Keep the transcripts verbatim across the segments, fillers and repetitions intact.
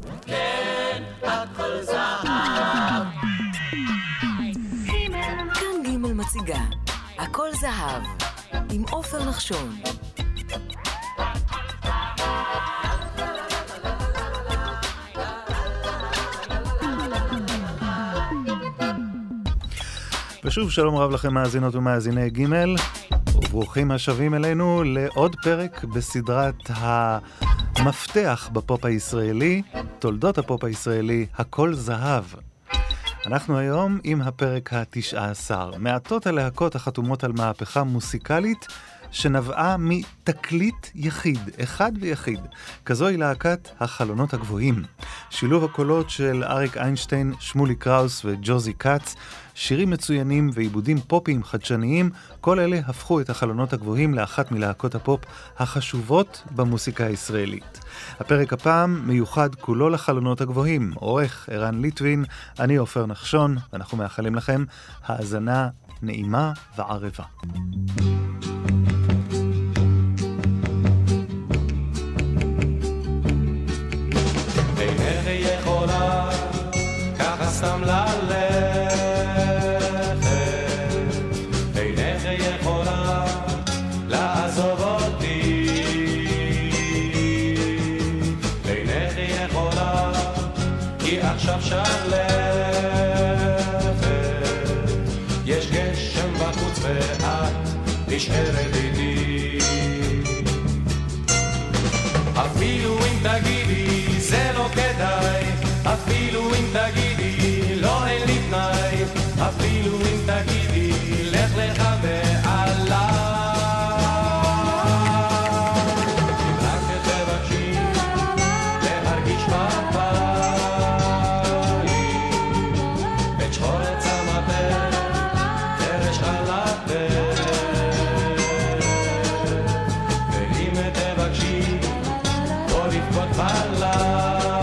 כן, הכל זהב. כאן גימל מציגה הכל זהב עם עופר נחשון. ושוב שלום רב לכם מאזינות ומאזיני גימל, וברוכים השבים אלינו לעוד פרק בסדרת המפתח בפופ הישראלי, תולדות הפופ הישראלי, הכל זהב. אנחנו היום עם הפרק ה-תשע עשר, מעטות הלהקות החתומות על מהפכה מוסיקלית שנבעה מתקליט יחיד, אחד ויחיד. כזו היא להקת החלונות הגבוהים. שילוב הקולות של אריק איינשטיין, שמולי קראוס וג'וזי קאץ, שירים מצוינים ועיבודים פופיים חדשניים, כל אלה הפכו את החלונות הגבוהים לאחת מלהקות הפופ החשובות במוסיקה הישראלית. הפרק הפעם מיוחד כולו לחלונות הגבוהים. עורך ערן ליטווין, אני עופר נחשון, ואנחנו מאחלים לכם האזנה נעימה וערבה. אינך יכולה ככה סתם ללכת, אינך יכולה לעזוב אותי, אינך יכולה כי עכשיו שלכת, יש גשם בחוץ ואת נשארת איתי, אפילו אם תגידי זה לא כדאי, אפילו אם תגידי לא אין לי תנאי, אפילו אם תגידי לך לך ועליי, אם רק תבקשי להרגיש בבית את שחור צמתך חרש חלתך, ואם תבקשי לא לבכות בלילה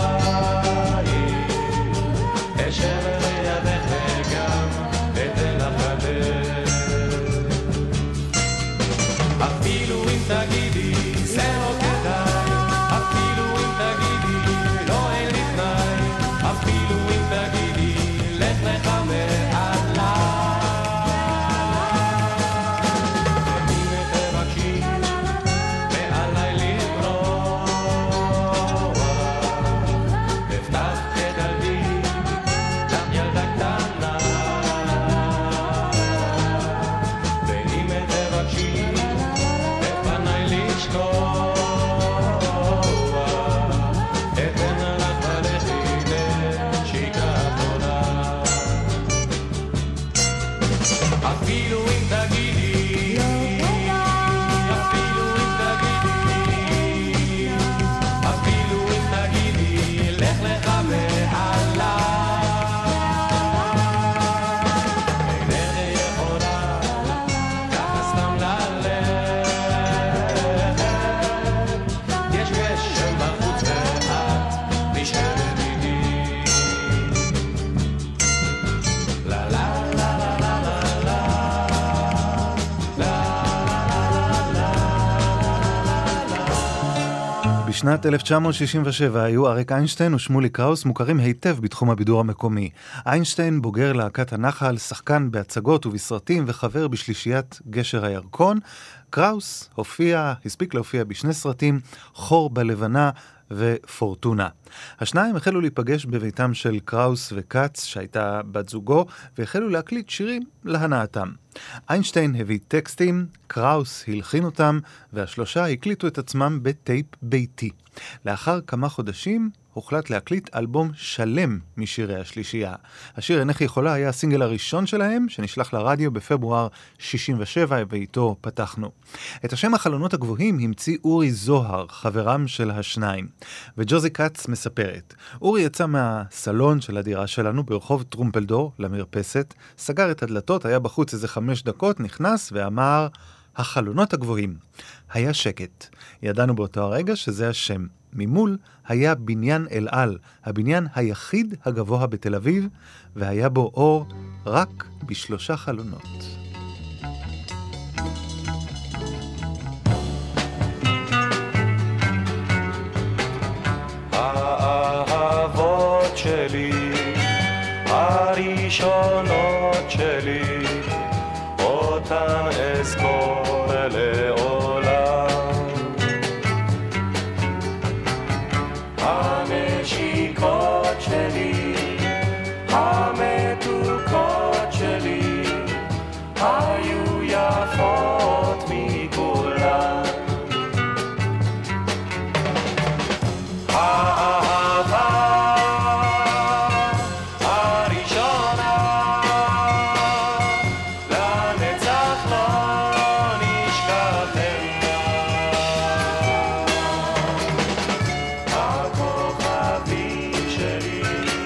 בשנת אלף תשע מאות שישים ושבע היו אריק איינשטיין ושמולי קראוס מוכרים היטב בתחום הבידור המקומי. איינשטיין בוגר להקת הנחל, שחקן בהצגות ובסרטים וחבר בשלישיית גשר הירקון. קראוס הופיע, הספיק להופיע בשני סרטים, חור בלבנה ופורטונה. השניים החלו להיפגש בביתם של קראוס וקאץ, שהייתה בת זוגו, והחלו להקליט שירים להנאתם. איינשטיין הביא טקסטים, קראוס הלחין אותם, והשלושה הקליטו את עצמם בטייפ ביתי. לאחר כמה חודשים הוחלט להקליט אלבום שלם משירי השלישייה. השיר אינך יכולה היה הסינגל הראשון שלהם, שנשלח לרדיו בפברואר שישים ושבע, ואיתו פתחנו. את השם החלונות הגבוהים המציא אורי זוהר, חברם של השניים. וג'וזי קאץ מספרת, אורי יצא מהסלון של הדירה שלנו ברחוב טרומפלדור למרפסת, סגר את הדלתות, היה בחוץ איזה חמש דקות, נכנס ואמר, החלונות הגבוהים. היה שקט. ידענו באותו הרגע שזה השם. ממול היה בניין אל-על, הבניין היחיד הגבוה בתל אביב, והיה בו אור רק בשלושה חלונות. האהבה אזכור לעולם. הנשיקות שלי, המתוקות שלי, היו יפות מכולן. האהבה הראשונה לנצח לא נשכחנה. הכוכבים שלי,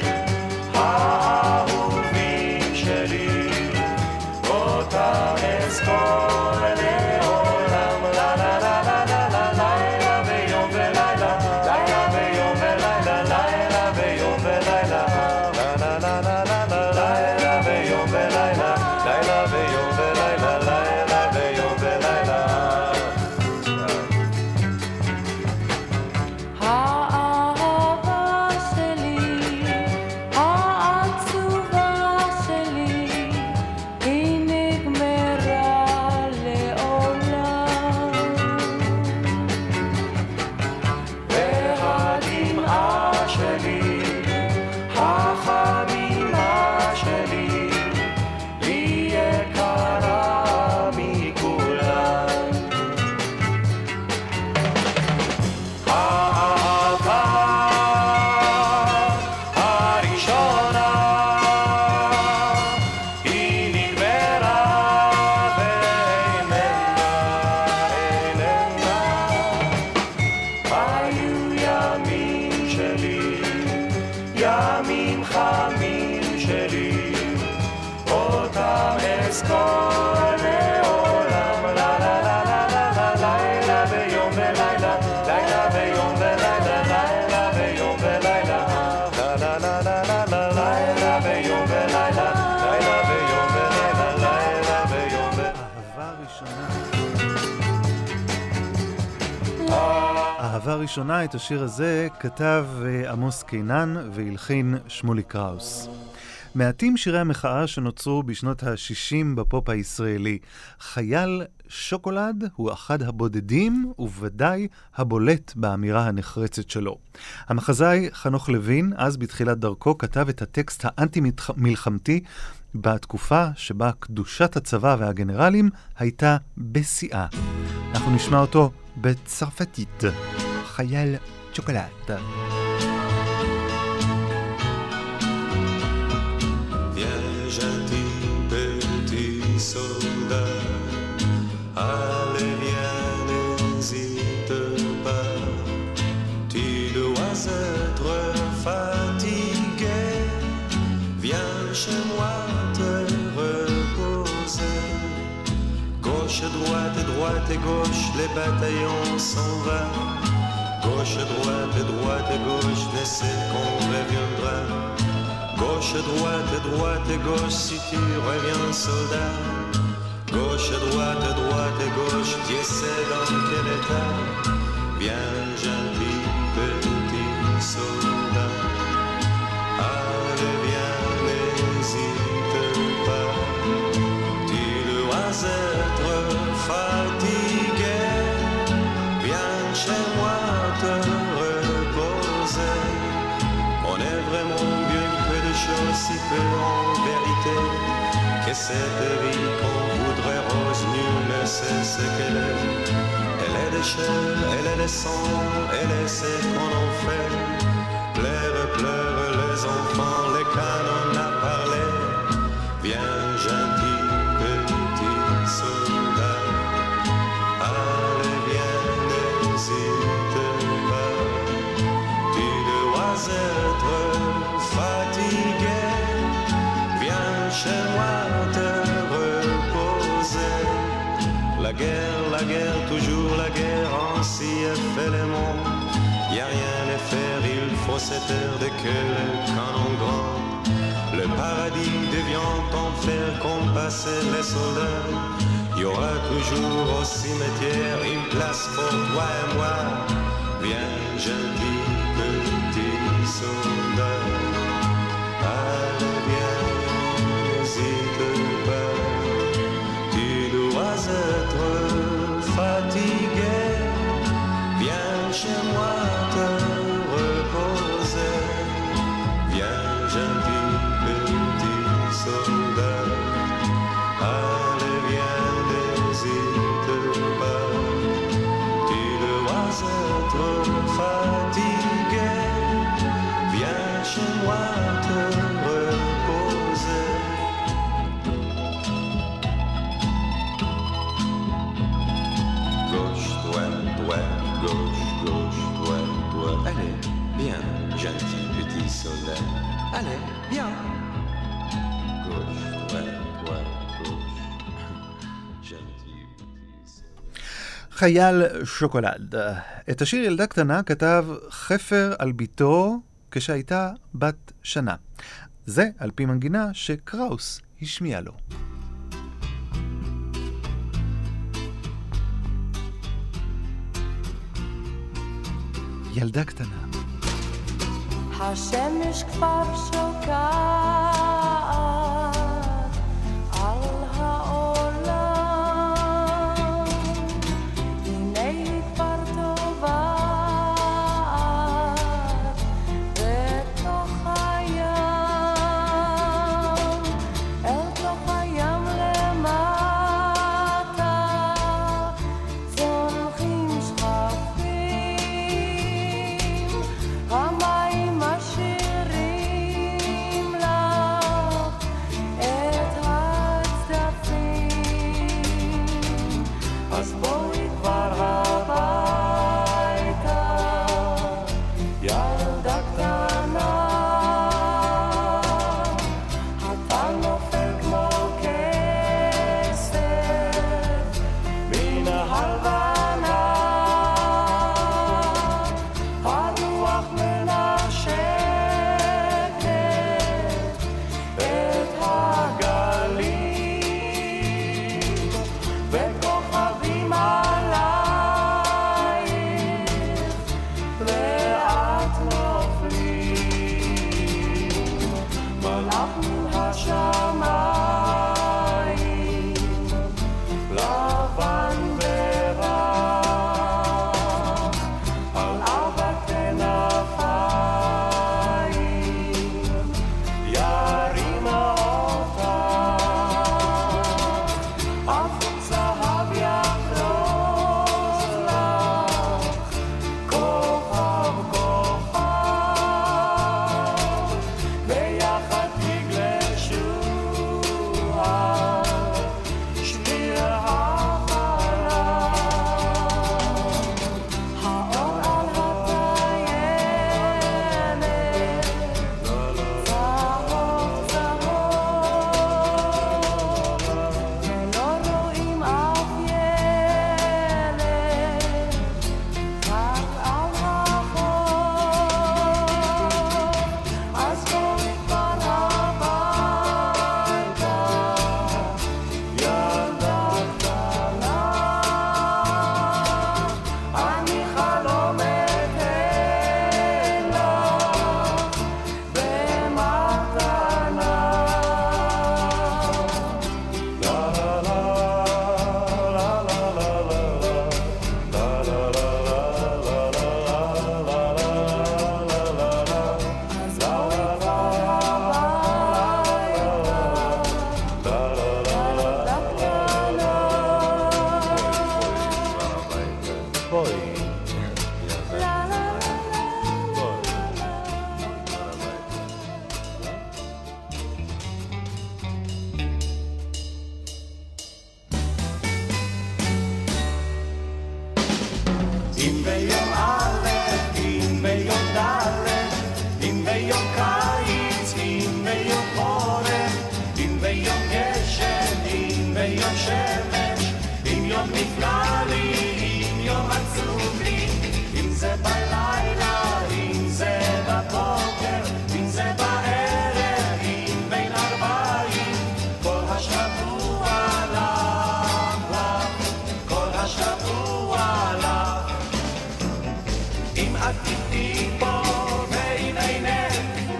האהובים שלי, אותם אזכור לעולם. לה לה לה לה לה לה, לילה ויום ולילה, לילה ויום ולילה, לילה ויום ולילה, לה לה לה לה לה לה, לילה ויום ולילה, לילה ויום ולילה, לילה ויום ולילה. האהבה שלי, העצובה שלי, היא נגמרה לעולם. והדמעה שלי, החמימה שלי, לי יקרה מכולן. האהבה הראשונה היא נגמרה ואיננה, איננה. היו ימים שלי, ימים חמים שלי, אותם אזכור לעולם. לה לה לה לה לה לה, לילה ויום ולילה, לילה ויום ולילה, לילה ויום ולילה, לה לה לה לה לה לה, לילה ויום ולילה, לילה ויום ולילה, לילה ויום ולילה. אהבה ראשונה. אהבה ראשונה, את השיר הזה כתב אה, עמוס קינן והלחין שמולי קראוס. מעטים שירי המחאה שנוצרו בשנות ה-שישים בפופ הישראלי. חייל שוקולד הוא אחד הבודדים וודאי הבולט באמירה הנחרצת שלו. המחזאי חנוך לוין, אז בתחילת דרכו, כתב את הטקסט האנטי-מלחמתי בתקופה שבה קדושת הצבא והגנרלים הייתה בשיאה. אנחנו נשמע אותו בצרפתית. חייל שוקולד. Viens gentil petit soldat, allez viens n'hésite pas, tu dois être fatigué, viens chez moi te reposer. Gauche, droite, droite et gauche, les bataillons s'en vont. Gauche, droite, droite et gauche, laissez qu'on reviendra. Gauche, droite, droite et gauche, si tu reviens soldat. Gauche, droite, droite et gauche, tu sais dans quel état. Viens gentil petit soldat, allez viens n'hésite pas, tu dois être fatigué, viens chez moi te reposer. On est vraiment mieux que de choses si peu en vérité, que cette vie qu'on voudrait rose, nul ne sait ce qu'elle est. Elle est de chair, elle est de sang, elle est ce qu'on en fait. Pleure, pleure les enfants, les canons à parler. Viens gentil petit soldat, allez viens n'hésite pas, tu dois être fatigué, viens chez moi te reposer. La guerre, la guerre, toujours la guerre, ainsi est fait le monde. Y a rien à faire, il faut se taire dès que le canon grand. Le paradis devient enfer comme passaient les soldats. Y aura toujours au cimetière une place pour toi et moi. Viens gentil petit soldat, allez viens, n'hésite pas, tu dois être soleil. Allez, viens. Gauche, droite, droite, gauche. Gentil petit. חייל שוקולד. את השיר ילדה קטנה כתב חפר על ביתו כשהייתה בת שנה. זה על פי מנגינה שקראוס השמיע לו. ילדה קטנה. השמש כבר שוקעת על העולם, הנה היא כבר טובעת בתוך הים, אל תוך הים למטה צונחים שכפים, המים משאירים לך את הצדפים, אז בואי כבר הביתה, ילדה קטנה, הטל נופל כמו כסף מן הלבנה, הרוח מנשקת את הגלים, וכוכבים עלייך לאט נופלים, מלאך מן השמיים, לבן ורח, על ארבע כנפיים, ירים אותך, אף זהב יחרוש לך, כוכב כוכב, ביחד תגלשו על שביל החלום, האור על הטיילת, צהוב צהוב, ולא רואים אף ילד, רק על החוף, אז בואי כבר הביתה, ילדה קטנה, אני חלומת אלך במתנה. לה לה לה לה לה אז בואי כבר הביתה, ילדה קטנה. בואי. אם ביום א', אם ביום ד', אם ביום קיץ, אם ביום חורף, אם ביום גשם, אם ביום שמש, אם יום נפלא לי, אם יום עצוב לי, אם זה בלילה, אם זה בבוקר, אם זה בערב, אם בין ארבעים, כל השבוע לך, לך, כל השבוע לך. אם את איתי פה ואם אינך,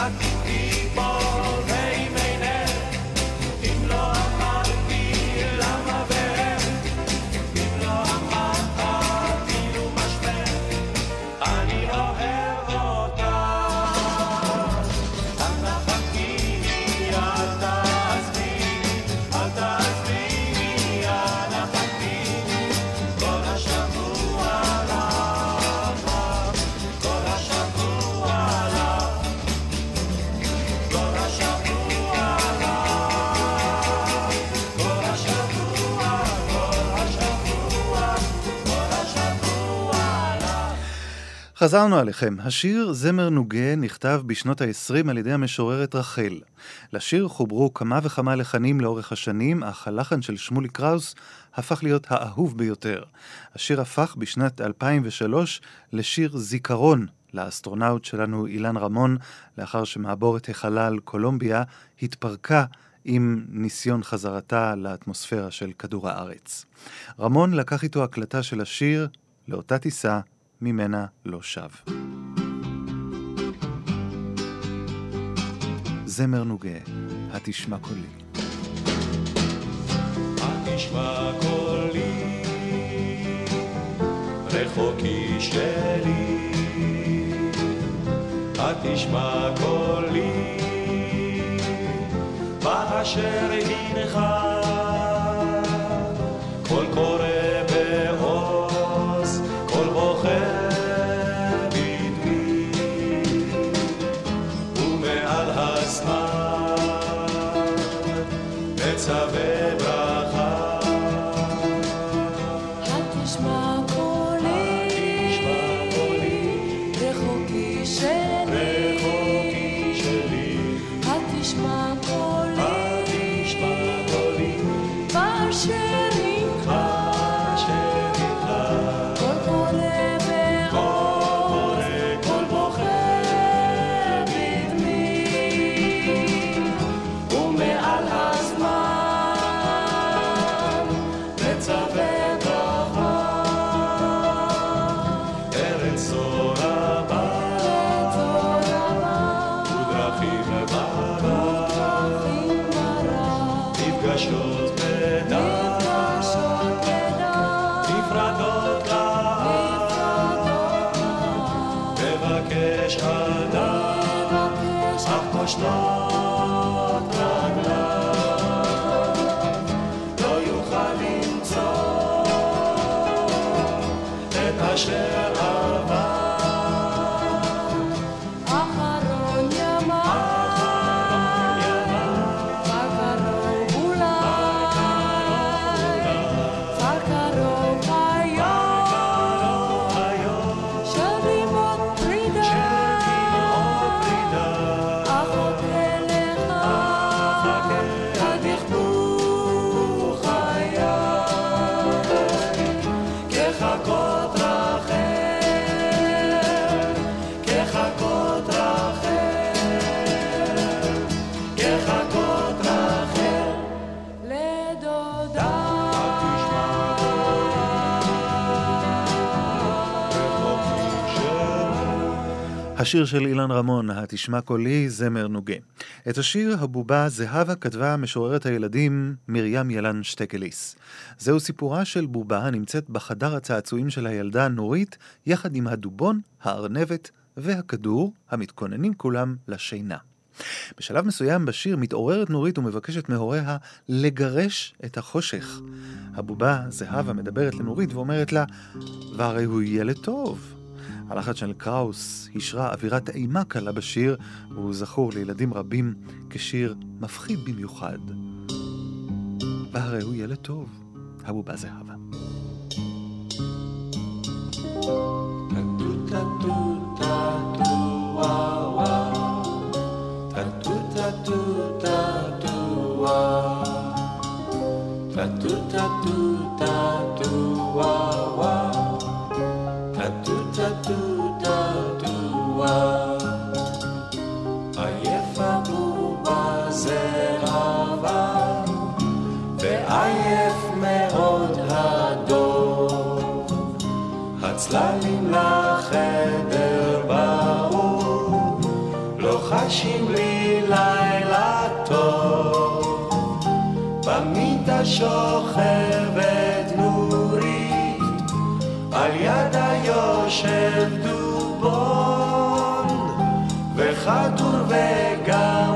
חזרנו עליכם. השיר זמר נוגה נכתב בשנות ה-עשרים על ידי המשוררת רחל. לשיר חוברו כמה וכמה לחנים לאורך השנים, אך הלחן של שמולי קראוס הפך להיות האהוב ביותר. השיר הפך בשנת אלפיים ושלוש לשיר זיכרון לאסטרונאוט שלנו אילן רמון, לאחר שמעבורת החלל קולומביה התפרקה עם ניסיון חזרתה לאטמוספירה של כדור הארץ. רמון לקח איתו הקלטה של השיר לאותה טיסה ממנה לא שב. זמר נוגה, התשמע קולי. התשמע קולי, רחוקי שלי, התשמע קולי, באשר הנך, כל קורא בעוז, כל בוחר בדמי, ומעל הזמן מצווה ברכה. התשמע קולי, רחוקי שלי, התשמע קולי, באשר הנך, כל קורא בעוז, כל בוחר בדמי, ומעל הזמן מצווה ברכה. ארץ זו רבה ודרכים ברא, נפגשות בדעת, נפרדות לאט, מבקש אדם, אך פושטות רגליו, לא יוכל למצוא את אשר עבר. אחרון ימיו, כבר קרוב אולי, כבר קרוב היום, של לימוד פרידה, אחות אליך, עד יכבו חיי, כחכות רחל, כחכות רחל, כחכות רחל, לדודה. השיר של אילן רמון, התשמע קולי, זמר נוגה. את השיר הבובה זהבה כתבה משוררת הילדים מרים ילן שטקליס. זהו סיפורה של בובה הנמצאת בחדר הצעצועים של הילדה נורית, יחד עם הדובון, הארנבת והכדור, המתכוננים כולם לשינה. בשלב מסוים בשיר מתעוררת נורית ומבקשת מהוריה לגרש את החושך. הבובה זהבה מדברת לנורית ואומרת לה, והרי הוא ילד טוב. הלחן של קראוס השרה אווירת אימה קלה בשיר, והוא זכור לילדים רבים כשיר מפחיד במיוחד. והרי הוא ילד טוב, הבובה זהבה. עייף הבובה זהבה ועייף מאוד הדוב, הצללים לחדר באו, לוחשים לי לילה טוב, במיטה שוכבת נורית, על ידה יושב דובון, וחתור וגם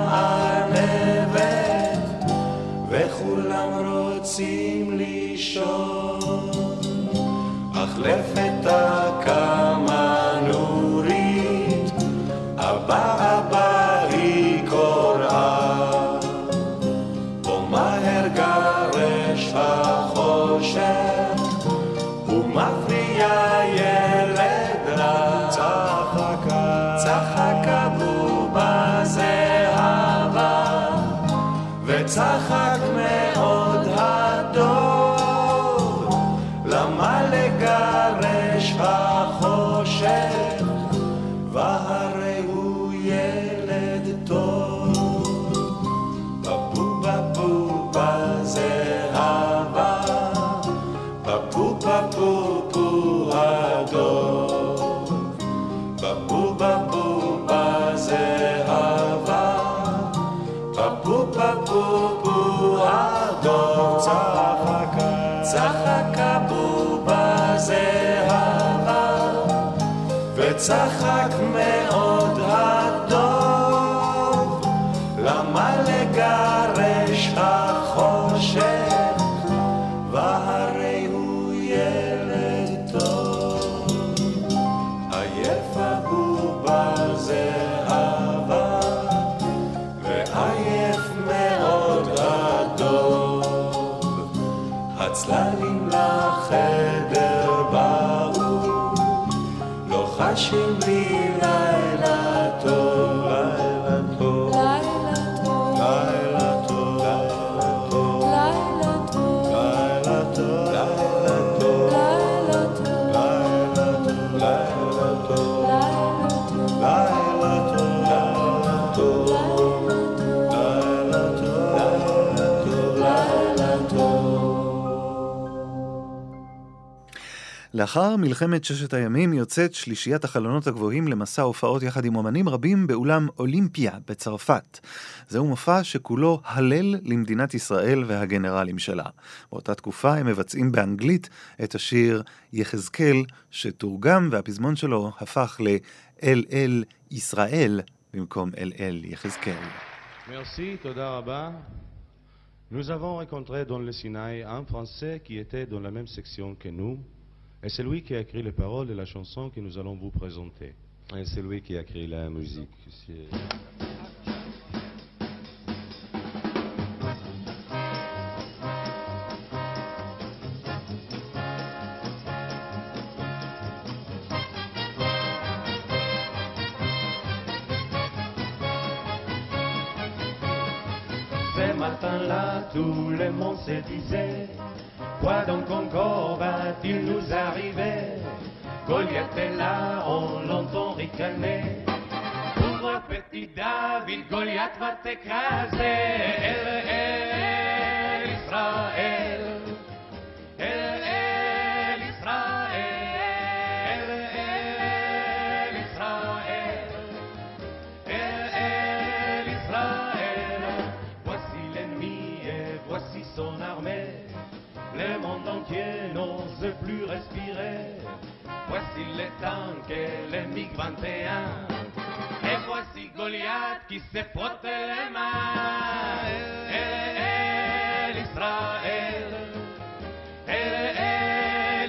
ענבת, וכולם רוצים לישון. אך לפתע קמה נורית, אבא אבא היא קוראה, בוא מהר גרש החושך, ומפריע ילד רע. צחקה, צחקה בובה זהבה, וצחק מאוד הדוב, למה לגרש החושך, והרי הוא ילד טוב. בבובה בובה זהבה, בבובה בובו הדוב, בבובה בובה זהבה, בבובה בובו הדוב. צחקה, צחקה בובה זהבה, וצחק מאוד הדוב, למה לגרש החושך, והרי הוא ילד טוב. עייפה בובה זהבה, ועייף מאוד הדוב, הצללים לחדר באו, לוחשים לי לילה טוב, לילה טוב, לילה טוב, לילה טוב, לילה טוב, לילה טוב, לילה טוב, לילה טוב, לילה טוב, לילה טוב, לילה טוב. לאחר מלחמת ששת הימים יוצאת שלישיית החלונות הגבוהים למסע הופעות יחד עם אומנים רבים באולם אולימפיה בצרפת. זהו מופע שכולו הלל למדינת ישראל והגנרלים שלה. באותה תקופה הם מבצעים באנגלית את השיר יחזקאל, שתורגם והפזמון שלו הפך לאל אל ישראל במקום אל אל יחזקאל. Merci, תודה רבה. Nous avons rencontré dans le Sinaï un Français qui était dans la même section que nous. Et c'est lui qui a écrit les paroles de la chanson que nous allons vous présenter. Et c'est lui qui a écrit la musique. C'est... Ce matin-là, tout le monde se disait, quoi donc encore va-t-il nous arriver? Goliath est là, on l'entend ricaner. Pauvre petit David, Goliath va t'écraser. El, el, Israël. El, el, Israël. El, el, Israël. El, el, Israël. Voici l'ennemi et voici son armée. Le monde entier n'ose plus respirer. Voici les tanks et les MiG vingt et un. Et voici Goliath qui se frotte les mains. El, el, Israël. El, el,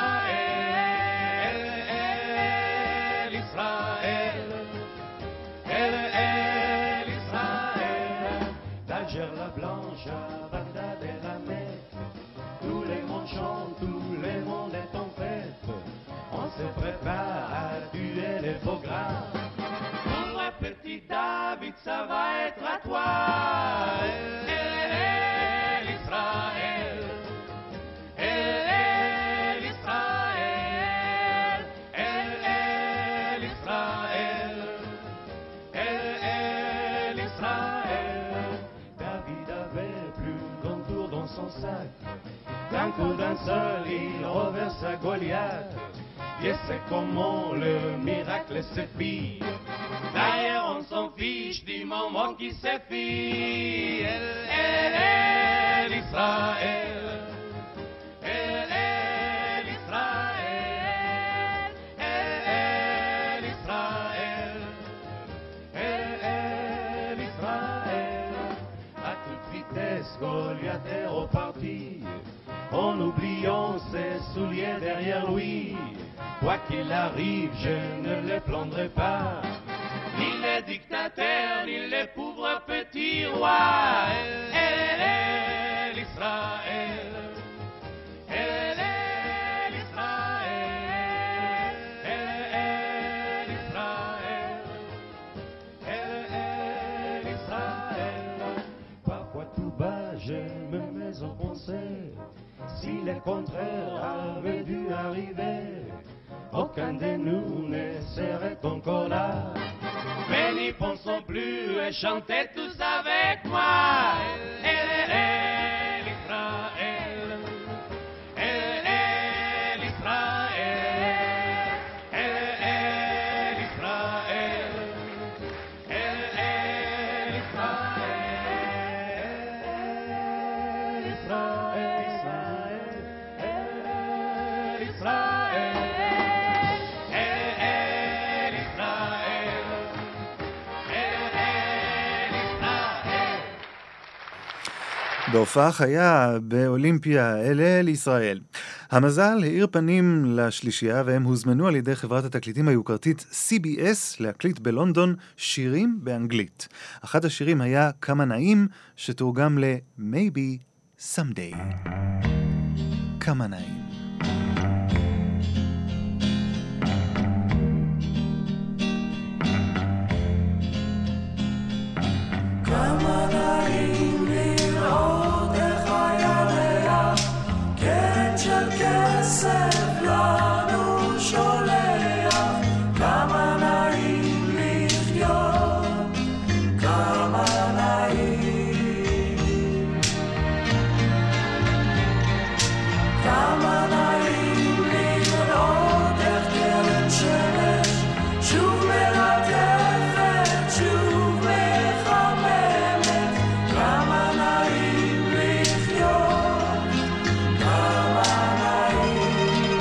Israël. El, el, Israël. El, el, Israël. D'Alger la Blanche à Bagdad et la Mecque, tout le monde chante, tout le monde est en fête. On se prépare à tuer les faux gras. Pauvre petit David, ça va être à toi. El, el, Israël. El, el, Israël. El, el, Israël. El, el, Israël. David avait plus qu'un tour dans son sac. D'un coup d'un seul, il renverse à Goliath. Et c'est comment le miracle se fit. D'ailleurs, on s'en fiche du moment qui s'effile. Elle, elle, elle, Israël. Elle, elle, Israël. Elle, elle, Israël. Elle, elle, Israël. À toute vitesse, Goliath est reparti, en oubliant ses souliers derrière lui. Quoi qu'il arrive, je ne les plaindrai pas, ni les dictateurs, ni les pauvres petits rois. Elle, elle, Israël. Elle, elle, Israël. Elle, elle, Israël. Elle, elle, Israël. Parfois tout bas, je me mets en pensée, si le contraire avait dû arriver, aucun de nous ne serait encore là. Mais n'y pensons plus et chantez tous avec moi. Elle, elle, elle, Israël. Elle, elle, Israël. Elle, elle, Israël. Elle, elle, Israël. Israël, Israël. Israël. בהופעה חיה באולימפיה, אל אל ישראל. המזל האיר פנים לשלישייה, והם הוזמנו על ידי חברת התקליטים היוקרתית סי בי אס להקליט בלונדון שירים באנגלית. אחד השירים היה כמה נעים, שתורגם ל-Maybe Someday. כמה נעים. כמה נעים לראות איך הירח קרן של כסף לנו שולח. כמה נעים לחיות, כמה נעים, כמה נעים לראות איך קרן שמש שוב מלטפת, שוב מחממת. כמה נעים לחיות, כמה נעים.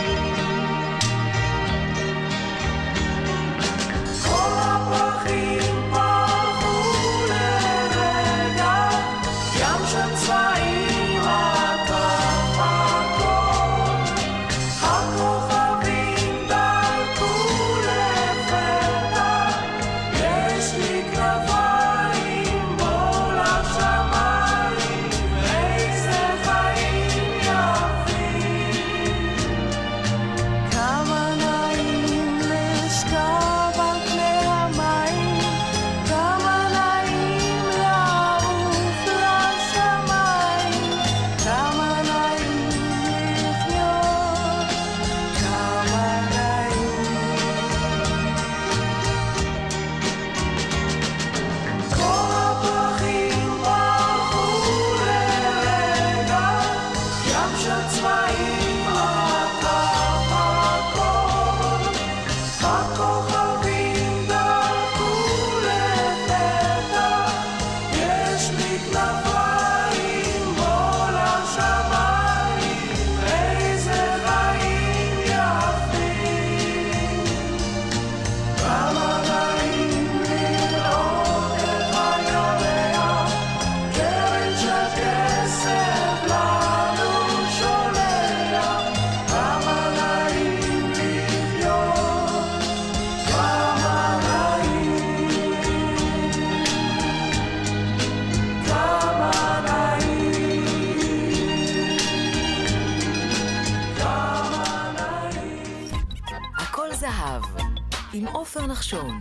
כל הפרחים פרחו לרגע, ים של צבעים עטף הכל. הכוכבים דלקו לפתע, יש לי כנפיים בו לשמיים, איזה חיים יפים. כמה נעים לשכב על פני המים, כמה נעים לעוף לשמיים. כמה נעים לחיות, כמה נעים. כל הפרחים פרחו לרגע, ים של צבעים עטף הכל. הכוכבים דלקו לפתע, יש לי כנפיים בו לשמיים, איזה חיים יפים. כמה נעים לראות איך הירח קרן של כסף לנו שולח. כמה נעים לחיות, כמה נעים, כמה נעים, כמה נעים. הכל זהב, עם עופר נחשון.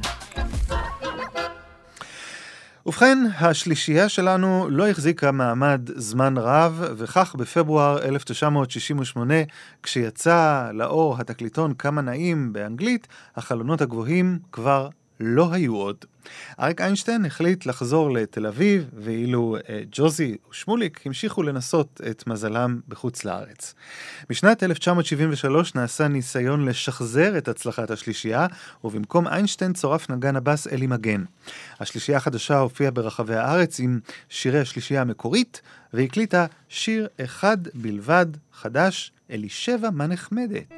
ובכן, השלישייה שלנו לא החזיקה מעמד זמן רב, וכך בפברואר אלף תשע מאות שישים ושמונה, כשיצא לאור התקליטון כמה נעים באנגלית, החלונות הגבוהים כבר לא היו עוד. אריק איינשטיין החליט לחזור לתל אביב, ואילו אה, ג'וזי ושמוליק המשיכו לנסות את מזלם בחוץ לארץ. בשנת אלף תשע מאות שבעים ושלוש נעשה ניסיון לשחזר את הצלחת השלישייה, ובמקום איינשטיין צורף נגן הבס אלי מגן. השלישייה החדשה הופיעה ברחבי הארץ עם שירי השלישייה המקורית, והקליטה שיר אחד בלבד חדש, אלישבע מה נחמדת.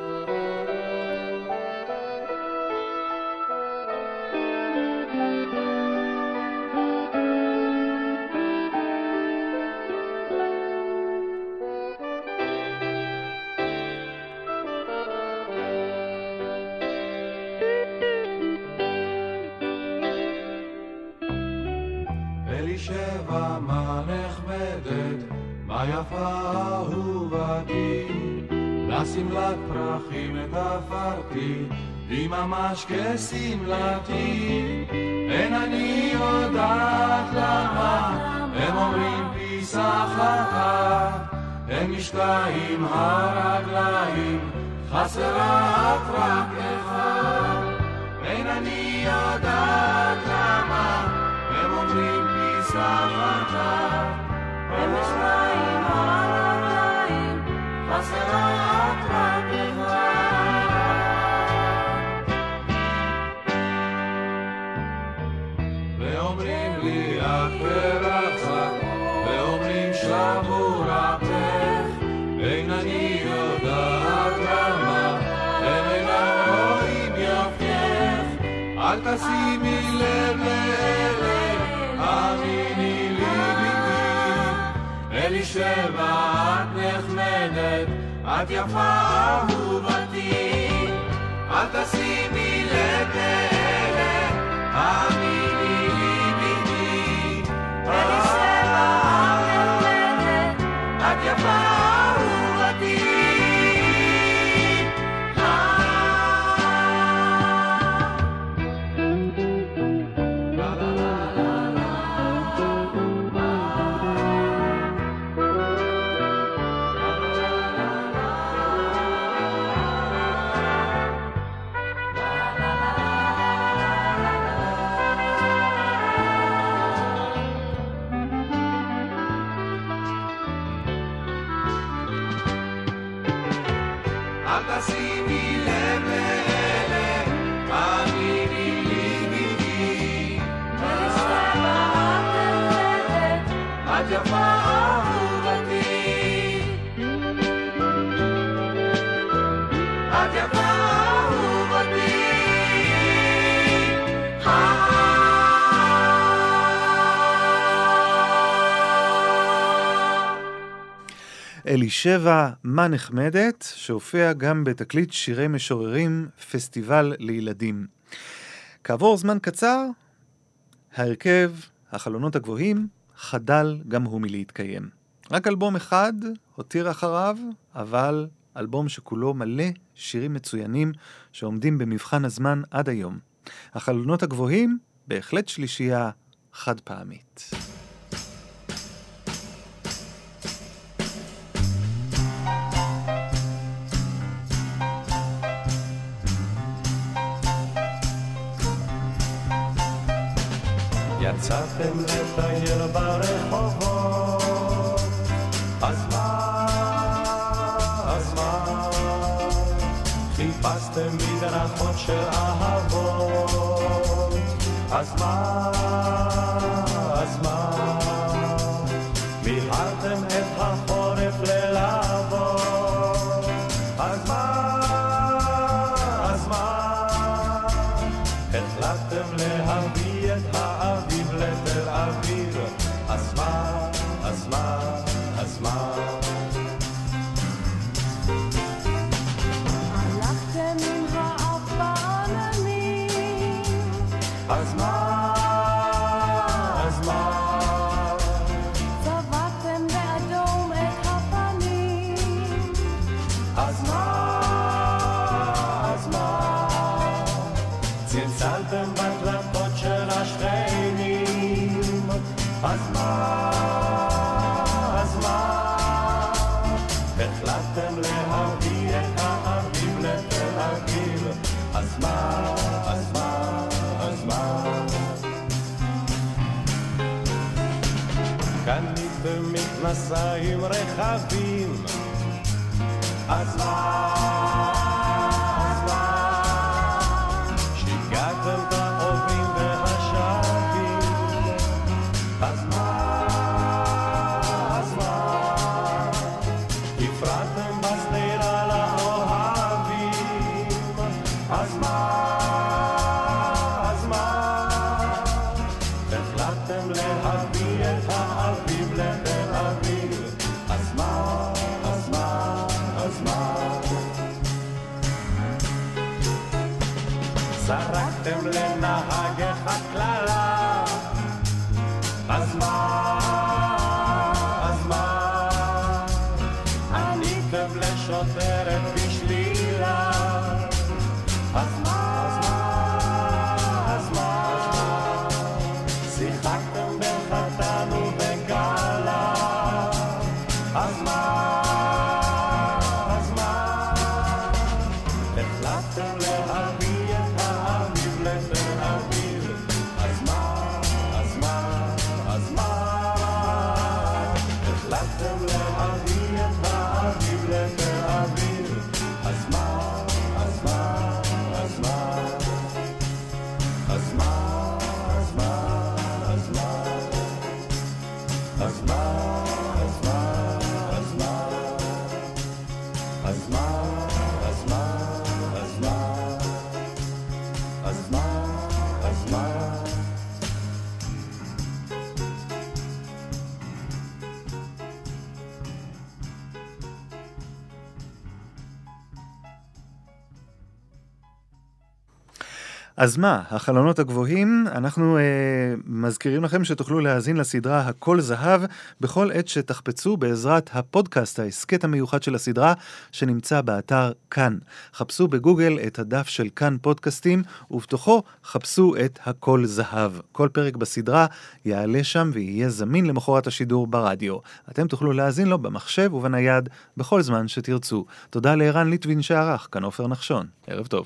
אלישבע מה נחמדת, מה יפה אהובתי, לשמלת פרחים תפרתי, היא ממש כשמלתי. אין אני יודעת למה, הם אומרים פיסח אחת, הם משתיים הרגליים, חסרת רק אחד. אין אני יודעת למה, הם אומרים פיסח אחת, הם משתיים הרגליים, חסרת רק אחד. ואומרים לי את פרחת, ואומרים שבור אפך, אין אני יודעת למה, הם אינם רואים יפייך. אל תשימי לב לאלה, אמיני לי ביתי, אלישבע את נחמדת, את יפה אהובתי. אל תשימי לב לאלה, אמיני לי ביתי, אלישבע את נחמדת, את יפה אהובתי. תשימי לב לאלה, אמיני לי ביתי, אלישבע את נחמדת, את יפה אהובתי. את יפה אהובתי. אלישבע מה נחמדת, שהופיע גם בתקליט שירי משוררים, פסטיבל לילדים. כעבור זמן קצר, ההרכב, החלונות הגבוהים, חדל גם הוא מלהתקיים. רק אלבום אחד הותיר אחריו, אבל אלבום שכולו מלא שירים מצוינים שעומדים במבחן הזמן עד היום. החלונות הגבוהים, בהחלט שלישייה חד פעמית. יצאתם לטייל ברחובות, אז מה, אז מה, חיפשתם מדרכות של אהבות, אז מה, אז מה, מילאתם את החורף ללהבות, אז מה, אז מה, החלטתם להביא את האביב לתל אביב, אז מה, אז מה, אז מה, הלכתם עם האף בעננים, אז מה, אז מה, צבעתם באדום את הפנים, אז מה, אז מה, צלצלתם בדלתות של השכנים, אז מה, אז מה, החלטתם להביא את האביב לתל אביב, אז מה, אז מה, קניתם מכנסיים רחבים, אז מה, אז מה, שיגעתם את העוברים והשבים, אז מה, אז מה, הפרעתם בשדרה לאוהבים, אז מה, אז מה, החלטתם להביא את האביב לתל אביב, אז מה, אז מה, אז מה, זרקתם לנהג הכללה, אז מה, אז מה, עניתם לשוטרת בשלילה, אז מה, אז מה, אז מה, שיחקתם בין חתן ובכלה, אז מה, אז מה, החלטתם להביא את האביב לתל אביב, אז מה, אז מה, אז מה, החלטתם להביא את האביב לתל אביב, אז מה, אז מה, אז מה, אז מה, אז מה, אז מה, אז מה, אז מה, אז מה, אז מה, אז מה, אז מה, אז מה, אז מה. אז מה, החלונות הגבוהים, אנחנו אה, מזכירים לכם שתוכלו להאזין לסדרה הכל זהב בכל עת שתחפצו בעזרת הפודקאסט, ההסקט המיוחד של הסדרה שנמצא באתר כאן. חפשו בגוגל את הדף של כאן פודקאסטים ובתוכו חפשו את הכל זהב. כל פרק בסדרה יעלה שם ויהיה זמין למחרת השידור ברדיו. אתם תוכלו להאזין לו במחשב ובנייד בכל זמן שתרצו. תודה לערן ליטווין שערך, כאן עופר נחשון. ערב טוב.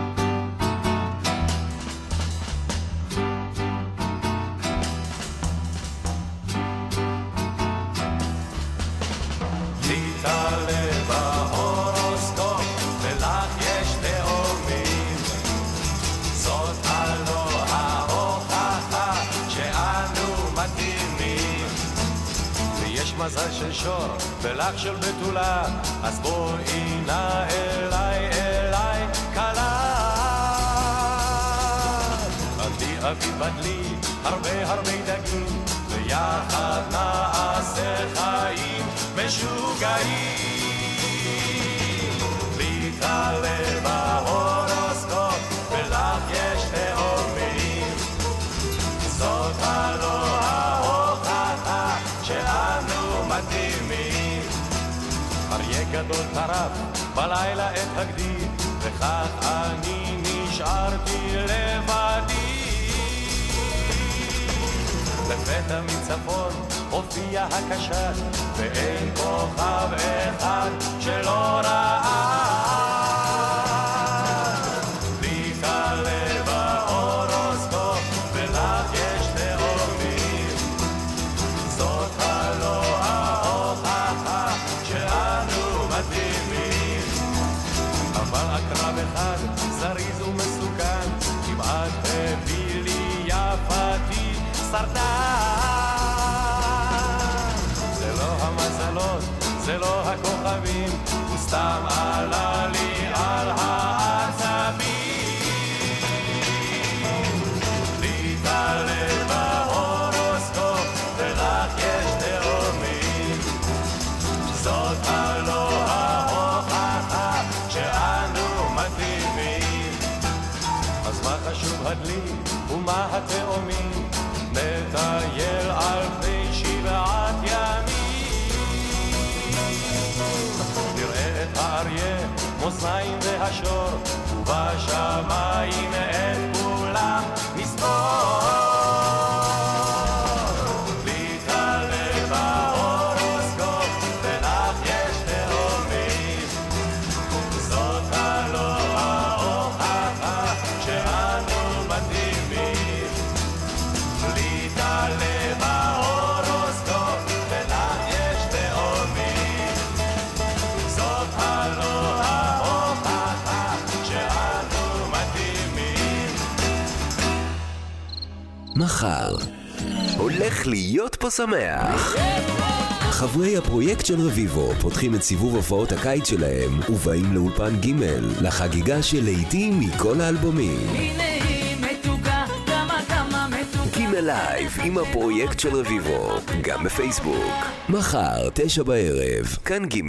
מזל של שור ולך של בתולה, אז בואי נא אליי, אליי קלה. עדי אבי בדלי הרבה הרבה דגים, ויחד נעשה חיים משוגעים. לי תעלה בהורוסקופ ולך יש תאומים, זאת הלא ההוכחה שאנו מתאימים. אריה גדול טרף בלילה את הגדי, וכך אני נשארתי לבדי. לפתע מצפון הופיע הקשת, ואין כוכב אחד שלא ראה. לי תעלה בהורוסקופ ולך יש תאומים, זאת הלא ההוכחה שאנו מתאימים. אבל הקרב אחד זריז ומסוכן, כמעט הביא לי יפתי סרטן. זה לא המזלות, זה לא הכוכבים, הוא סתם עלה לי על העצבים. לי תעלה בהורוסקופ ולך יש תאומים, זאת הלא ההוכחה שאנו מתאימים. אז מה חשוב הדלי ומה התאומים? נטייל על פני שבעת ימים, נראה את האריה, מאזניים והשור, ובשמיים את כולם נספור. לי תעלה בהורוסקופ ולך יש תאומים, זאת הלא ההוכחה שאנו מתאימים. לי תעלה בהורוסקופ מחר. הולך להיות פה שמח. חברי הפרויקט של רביבו פותחים את סיבוב הופעות הקיץ שלהם ובאים לאולפן ג' לחגיגה של לעיתים מכל האלבומים. הנה היא מתוקה, כמה כמה מתוקה. ג' לייב עם הפרויקט של רביבו, גם בפייסבוק. מחר, תשע בערב, כאן ג'.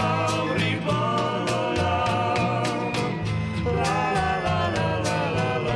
La la la la la la la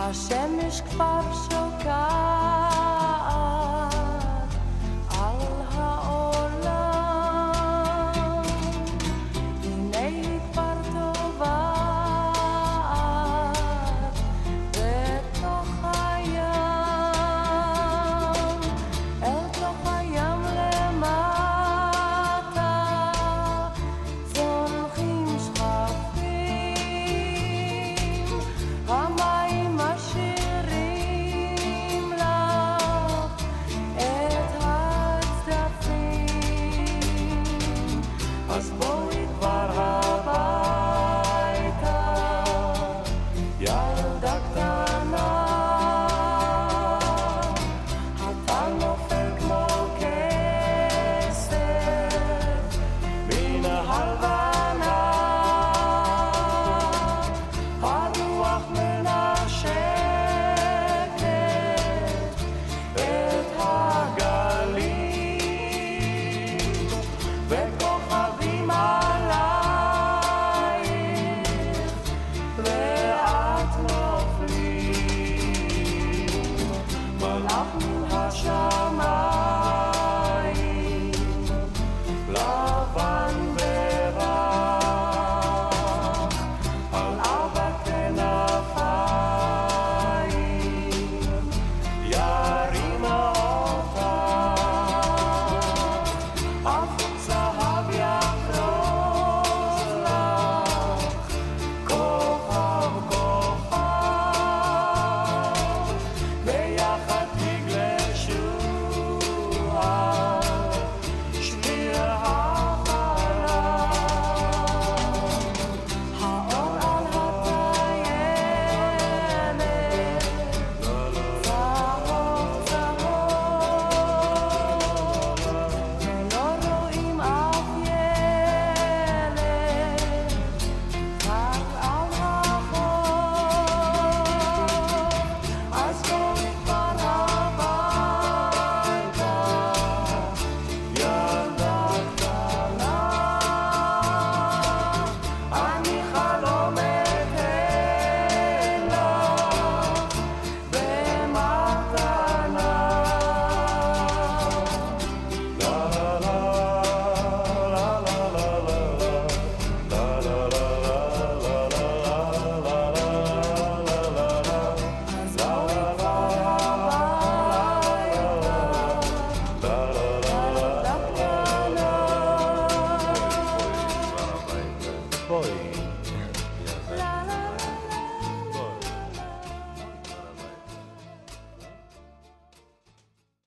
השמש כבר שוקעת על העולם, הנה היא כבר טובעת בתוך הים, אל תוך הים למטה זונחים שכפים, המים משאירים לך את הצדפים, אז בואי כבר הביתה ילדה קטנה, אתה נופל כמו כסף מן הלבנה, הרוח מנשקת את הגלים, וכוכבים עלייך לאט נופלים, מלאך מן השמיים לבן ורח על ארבע כנפיים ירים אותך, אבוק זהב יחרוז לך כוכב כוכב, ביחד תגלשו על שביל החלב, האור על הטיילת צהוב צהוב, ולא רואים אף ילד רק על החוף, אז בואי כבר הביתה ילדה קטנה, אני חלומת אלך במתנה. לה לה לה לה לה לה לה לה לה בואי